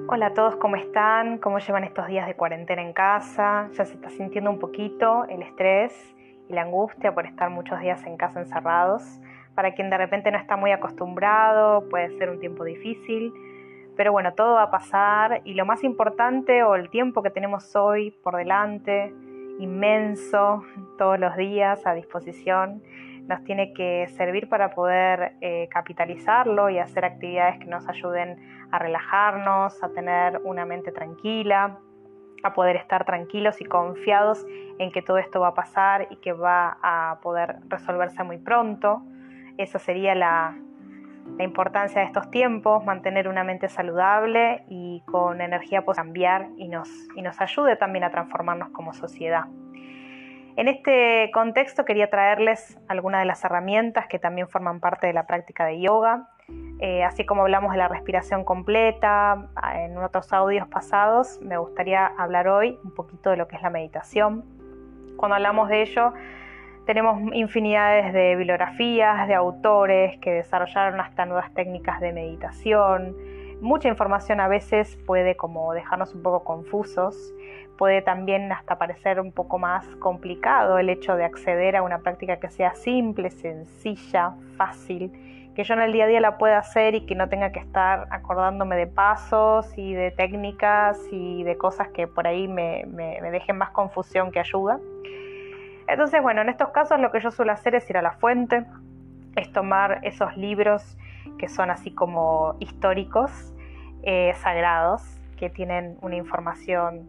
Hola a todos, ¿cómo están? ¿Cómo llevan estos días de cuarentena en casa? ¿Ya se está sintiendo un poquito el estrés y la angustia por estar muchos días en casa encerrados? Para quien de repente no está muy acostumbrado, puede ser un tiempo difícil, pero bueno, todo va a pasar y lo más importante, o el tiempo que tenemos hoy por delante, inmenso, todos los días a disposición, nos tiene que servir para poder capitalizarlo y hacer actividades que nos ayuden a relajarnos, a tener una mente tranquila, a poder estar tranquilos y confiados en que todo esto va a pasar y que va a poder resolverse muy pronto. Esa sería la importancia de estos tiempos, mantener una mente saludable y con energía para cambiar y nos ayude también a transformarnos como sociedad. En este contexto quería traerles algunas de las herramientas que también forman parte de la práctica de yoga, así como hablamos de la respiración completa en otros audios pasados. Me gustaría hablar hoy un poquito de lo que es la meditación. Cuando hablamos de ello, tenemos infinidades de bibliografías, de autores que desarrollaron hasta nuevas técnicas de meditación. Mucha información a veces puede como dejarnos un poco confusos. Puede también hasta parecer un poco más complicado el hecho de acceder a una práctica que sea simple, sencilla, fácil, que yo en el día a día la pueda hacer y que no tenga que estar acordándome de pasos y de técnicas y de cosas que por ahí me dejen más confusión que ayuda. Entonces, bueno, en estos casos lo que yo suelo hacer es ir a la fuente, es tomar esos libros que son así como históricos, sagrados, que tienen una información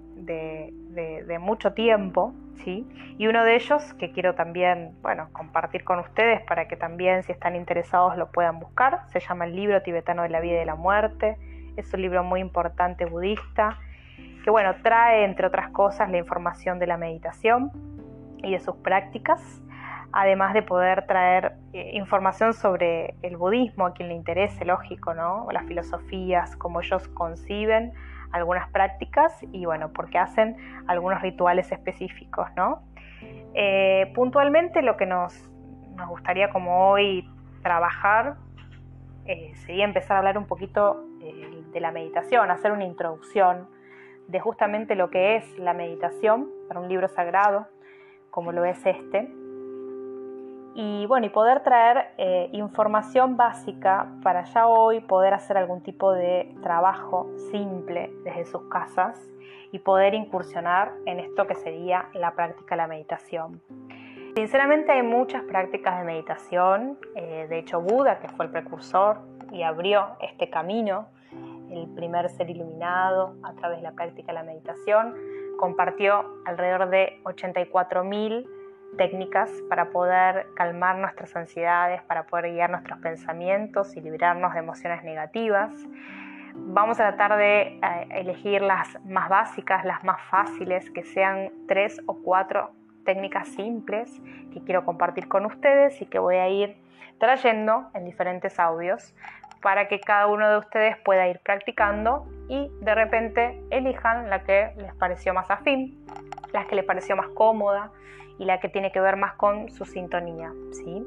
de mucho tiempo, ¿sí? Y uno de ellos que quiero también, compartir con ustedes para que también, si están interesados, lo puedan buscar, se llama El Libro Tibetano de la Vida y de la Muerte. Es un libro muy importante budista que, trae, entre otras cosas, la información de la meditación y de sus prácticas, además de poder traer información sobre el budismo, a quien le interese, lógico, ¿no? O las filosofías, cómo ellos conciben algunas prácticas y porque hacen algunos rituales específicos, ¿no? Puntualmente lo que nos gustaría como hoy trabajar sería empezar a hablar un poquito de la meditación, hacer una introducción de justamente lo que es la meditación para un libro sagrado como lo es este, y poder traer información básica para ya hoy poder hacer algún tipo de trabajo simple desde sus casas y poder incursionar en esto que sería la práctica de la meditación. Sinceramente hay muchas prácticas de meditación, de hecho Buda, que fue el precursor y abrió este camino, el primer ser iluminado a través de la práctica de la meditación, compartió alrededor de 84.000 técnicas para poder calmar nuestras ansiedades, para poder guiar nuestros pensamientos y librarnos de emociones negativas. Vamos a tratar de elegir las más básicas, las más fáciles, que sean 3 o 4 técnicas simples que quiero compartir con ustedes y que voy a ir trayendo en diferentes audios para que cada uno de ustedes pueda ir practicando y de repente elijan la que les pareció más afín, la que les pareció más cómoda y la que tiene que ver más con su sintonía, ¿sí?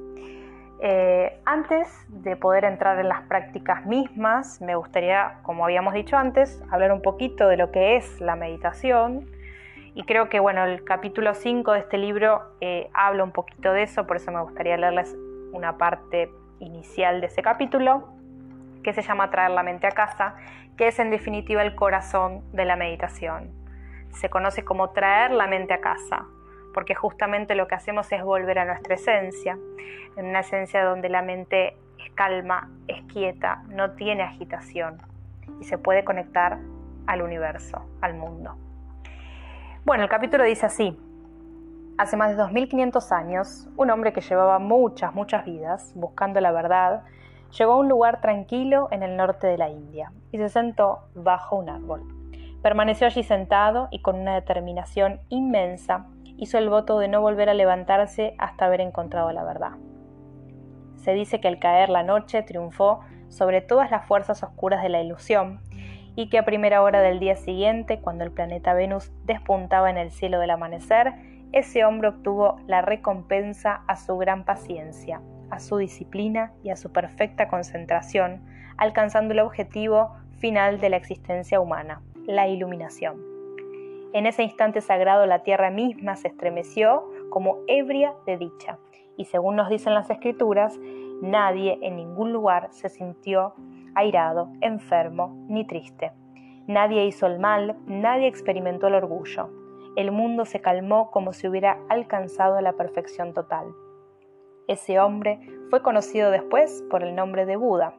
Antes de poder entrar en las prácticas mismas, me gustaría, como habíamos dicho antes, hablar un poquito de lo que es la meditación. Y creo que el capítulo 5 de este libro habla un poquito de eso, por eso me gustaría leerles una parte inicial de ese capítulo, que se llama Traer la mente a casa, que es en definitiva el corazón de la meditación. Se conoce como traer la mente a casa, porque justamente lo que hacemos es volver a nuestra esencia, en una esencia donde la mente es calma, es quieta, no tiene agitación y se puede conectar al universo, al mundo. El capítulo dice así: hace más de 2500 años, un hombre que llevaba muchas vidas buscando la verdad, llegó a un lugar tranquilo en el norte de la India y se sentó bajo un árbol. Permaneció allí sentado y con una determinación inmensa hizo el voto de no volver a levantarse hasta haber encontrado la verdad. Se dice que al caer la noche triunfó sobre todas las fuerzas oscuras de la ilusión y que a primera hora del día siguiente, cuando el planeta Venus despuntaba en el cielo del amanecer, ese hombre obtuvo la recompensa a su gran paciencia, a su disciplina y a su perfecta concentración, alcanzando el objetivo final de la existencia humana, la iluminación. En ese instante sagrado la tierra misma se estremeció como ebria de dicha, y según nos dicen las escrituras, nadie en ningún lugar se sintió airado, enfermo ni triste. Nadie hizo el mal, nadie experimentó el orgullo. El mundo se calmó como si hubiera alcanzado la perfección total. Ese hombre fue conocido después por el nombre de Buda.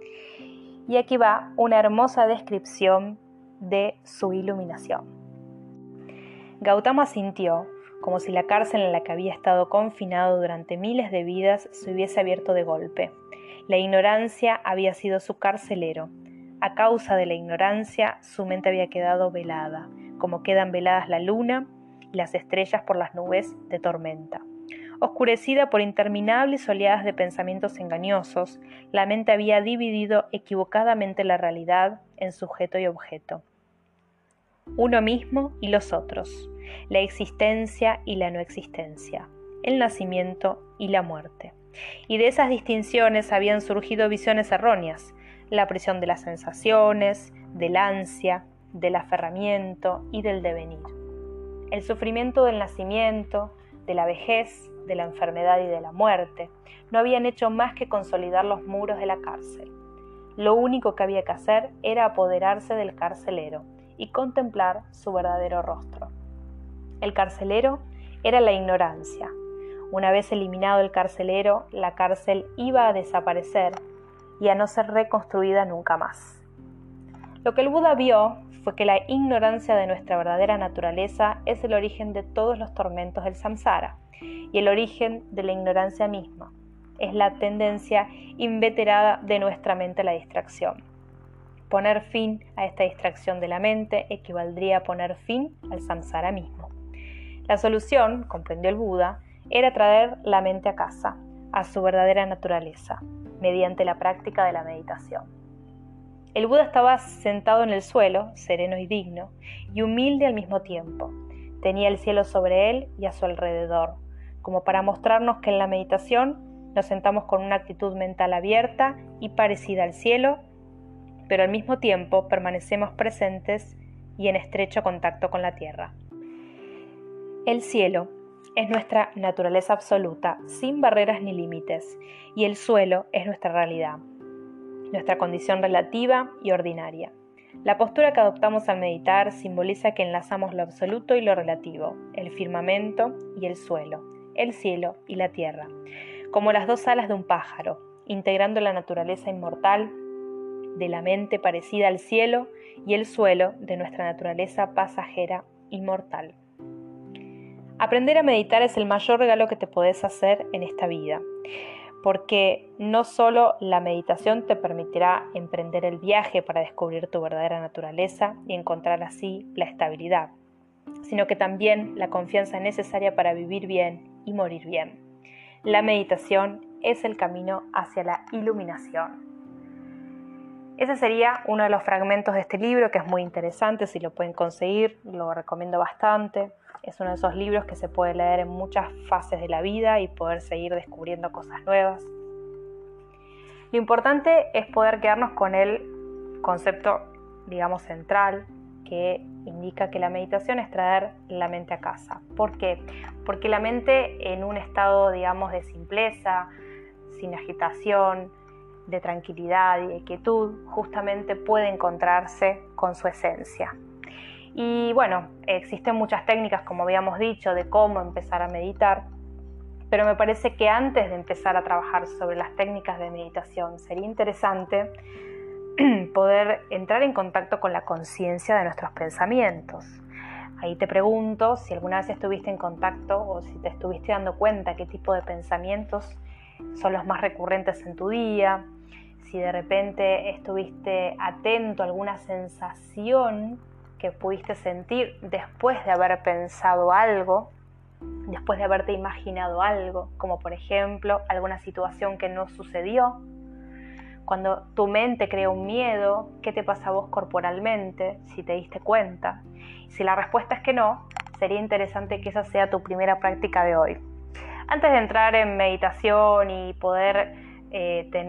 Y aquí va una hermosa descripción de su iluminación. Gautama sintió como si la cárcel en la que había estado confinado durante miles de vidas se hubiese abierto de golpe. La ignorancia había sido su carcelero. A causa de la ignorancia, su mente había quedado velada, como quedan veladas la luna y las estrellas por las nubes de tormenta. Oscurecida por interminables oleadas de pensamientos engañosos, la mente había dividido equivocadamente la realidad en sujeto y objeto. Uno mismo y los otros, la existencia y la no existencia, el nacimiento y la muerte. Y de esas distinciones habían surgido visiones erróneas, la prisión de las sensaciones, del ansia, del aferramiento y del devenir. El sufrimiento del nacimiento, de la vejez, de la enfermedad y de la muerte no habían hecho más que consolidar los muros de la cárcel. Lo único que había que hacer era apoderarse del carcelero y contemplar su verdadero rostro. El carcelero era la ignorancia. Una vez eliminado el carcelero, la cárcel iba a desaparecer y a no ser reconstruida nunca más. Lo que el Buda vio fue que la ignorancia de nuestra verdadera naturaleza es el origen de todos los tormentos del samsara y el origen de la ignorancia misma. Es la tendencia inveterada de nuestra mente a la distracción. Poner fin a esta distracción de la mente equivaldría a poner fin al samsara mismo. La solución, comprendió el Buda, era traer la mente a casa, a su verdadera naturaleza, mediante la práctica de la meditación. El Buda estaba sentado en el suelo, sereno y digno, y humilde al mismo tiempo. Tenía el cielo sobre él y a su alrededor, como para mostrarnos que en la meditación nos sentamos con una actitud mental abierta y parecida al cielo, pero al mismo tiempo permanecemos presentes y en estrecho contacto con la tierra. El cielo es nuestra naturaleza absoluta, sin barreras ni límites, y el suelo es nuestra realidad, nuestra condición relativa y ordinaria. La postura que adoptamos al meditar simboliza que enlazamos lo absoluto y lo relativo, el firmamento y el suelo, el cielo y la tierra, como las dos alas de un pájaro, integrando la naturaleza inmortal de la mente parecida al cielo y el suelo de nuestra naturaleza pasajera y mortal. Aprender a meditar es el mayor regalo que te podés hacer en esta vida, porque no solo la meditación te permitirá emprender el viaje para descubrir tu verdadera naturaleza y encontrar así la estabilidad, sino que también la confianza necesaria para vivir bien y morir bien. La meditación es el camino hacia la iluminación. Ese sería uno de los fragmentos de este libro, que es muy interesante. Si lo pueden conseguir, lo recomiendo bastante. Es uno de esos libros que se puede leer en muchas fases de la vida y poder seguir descubriendo cosas nuevas. Lo importante es poder quedarnos con el concepto, digamos, central, que indica que la meditación es traer la mente a casa. ¿Por qué? Porque la mente en un estado, digamos, de simpleza, sin agitación, de tranquilidad y de quietud, justamente puede encontrarse con su esencia. Y bueno, existen muchas técnicas, como habíamos dicho, de cómo empezar a meditar, pero me parece que antes de empezar a trabajar sobre las técnicas de meditación, sería interesante poder entrar en contacto con la conciencia de nuestros pensamientos. Ahí te pregunto si alguna vez estuviste en contacto o si te estuviste dando cuenta qué tipo de pensamientos son los más recurrentes en tu día, si de repente estuviste atento a alguna sensación que pudiste sentir después de haber pensado algo, después de haberte imaginado algo, como por ejemplo alguna situación que no sucedió. Cuando tu mente crea un miedo, ¿qué te pasa a vos corporalmente? Si te diste cuenta. Si la respuesta es que no, sería interesante que esa sea tu primera práctica de hoy. Antes de entrar en meditación y poder tener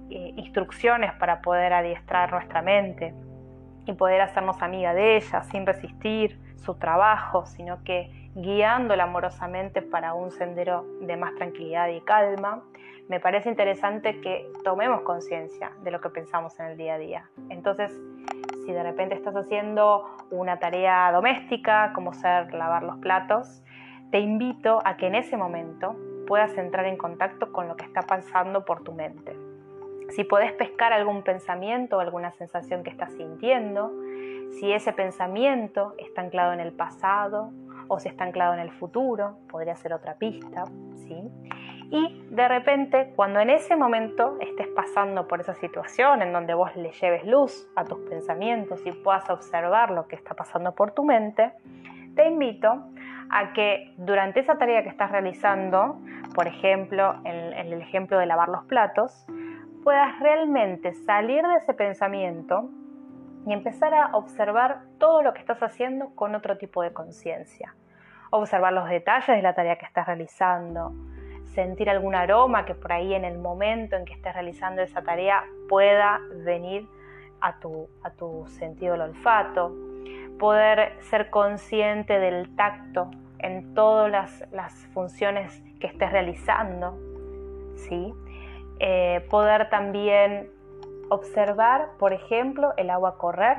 instrucciones para poder adiestrar nuestra mente y poder hacernos amiga de ella sin resistir su trabajo, sino que guiándola amorosamente para un sendero de más tranquilidad y calma. Me parece interesante que tomemos conciencia de lo que pensamos en el día a día. Entonces, si de repente estás haciendo una tarea doméstica, como ser lavar los platos, te invito a que en ese momento puedas entrar en contacto con lo que está pasando por tu mente. Si podés pescar algún pensamiento o alguna sensación que estás sintiendo, si ese pensamiento está anclado en el pasado o si está anclado en el futuro, podría ser otra pista, ¿sí? Y de repente, cuando en ese momento estés pasando por esa situación en donde vos le lleves luz a tus pensamientos y puedas observar lo que está pasando por tu mente, te invito a que durante esa tarea que estás realizando, por ejemplo, en el ejemplo de lavar los platos, puedas realmente salir de ese pensamiento y empezar a observar todo lo que estás haciendo con otro tipo de conciencia. Observar los detalles de la tarea que estás realizando, sentir algún aroma que por ahí en el momento en que estés realizando esa tarea pueda venir a tu sentido del olfato, poder ser consciente del tacto en todas las funciones que estés realizando, ¿sí? Poder también observar, por ejemplo, el agua correr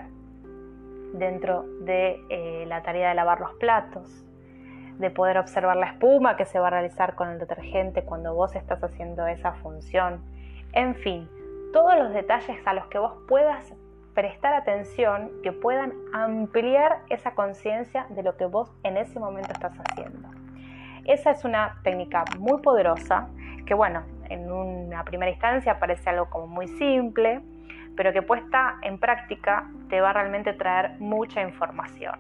dentro de la tarea de lavar los platos, de poder observar la espuma que se va a realizar con el detergente cuando vos estás haciendo esa función. En fin, todos los detalles a los que vos puedas prestar atención que puedan ampliar esa conciencia de lo que vos en ese momento estás haciendo. Esa es una técnica muy poderosa que, bueno, en una primera instancia parece algo como muy simple, pero que puesta en práctica te va a realmente traer mucha información.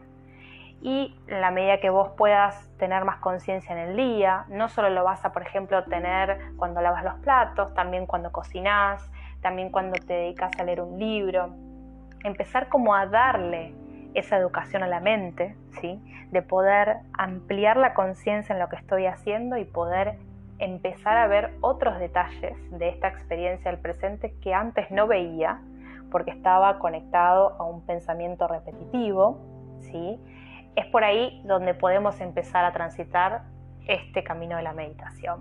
Y en la medida que vos puedas tener más conciencia en el día, no solo lo vas a, por ejemplo, tener cuando lavas los platos, también cuando cocinás, también cuando te dedicas a leer un libro, empezar como a darle esa educación a la mente, ¿sí? De poder ampliar la conciencia en lo que estoy haciendo y poder empezar a ver otros detalles de esta experiencia del presente que antes no veía porque estaba conectado a un pensamiento repetitivo, ¿sí? Es por ahí donde podemos empezar a transitar este camino de la meditación.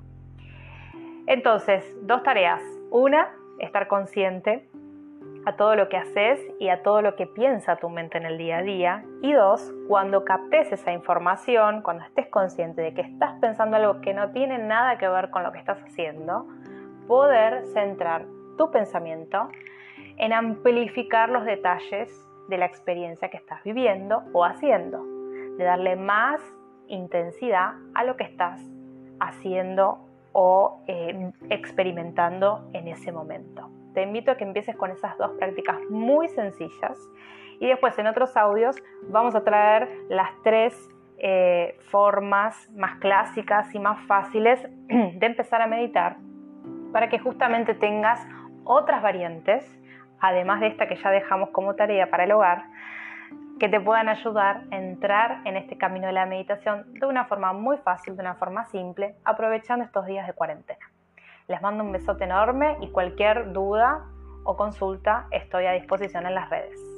Entonces, dos tareas. Una, estar consciente a todo lo que haces y a todo lo que piensa tu mente en el día a día. Y dos, cuando captes esa información, cuando estés consciente de que estás pensando algo que no tiene nada que ver con lo que estás haciendo, poder centrar tu pensamiento en amplificar los detalles de la experiencia que estás viviendo o haciendo, de darle más intensidad a lo que estás haciendo o experimentando en ese momento. Te invito a que empieces con esas dos prácticas muy sencillas y después en otros audios vamos a traer las tres formas más clásicas y más fáciles de empezar a meditar para que justamente tengas otras variantes, además de esta que ya dejamos como tarea para el hogar, que te puedan ayudar a entrar en este camino de la meditación de una forma muy fácil, de una forma simple, aprovechando estos días de cuarentena. Les mando un besote enorme y cualquier duda o consulta estoy a disposición en las redes.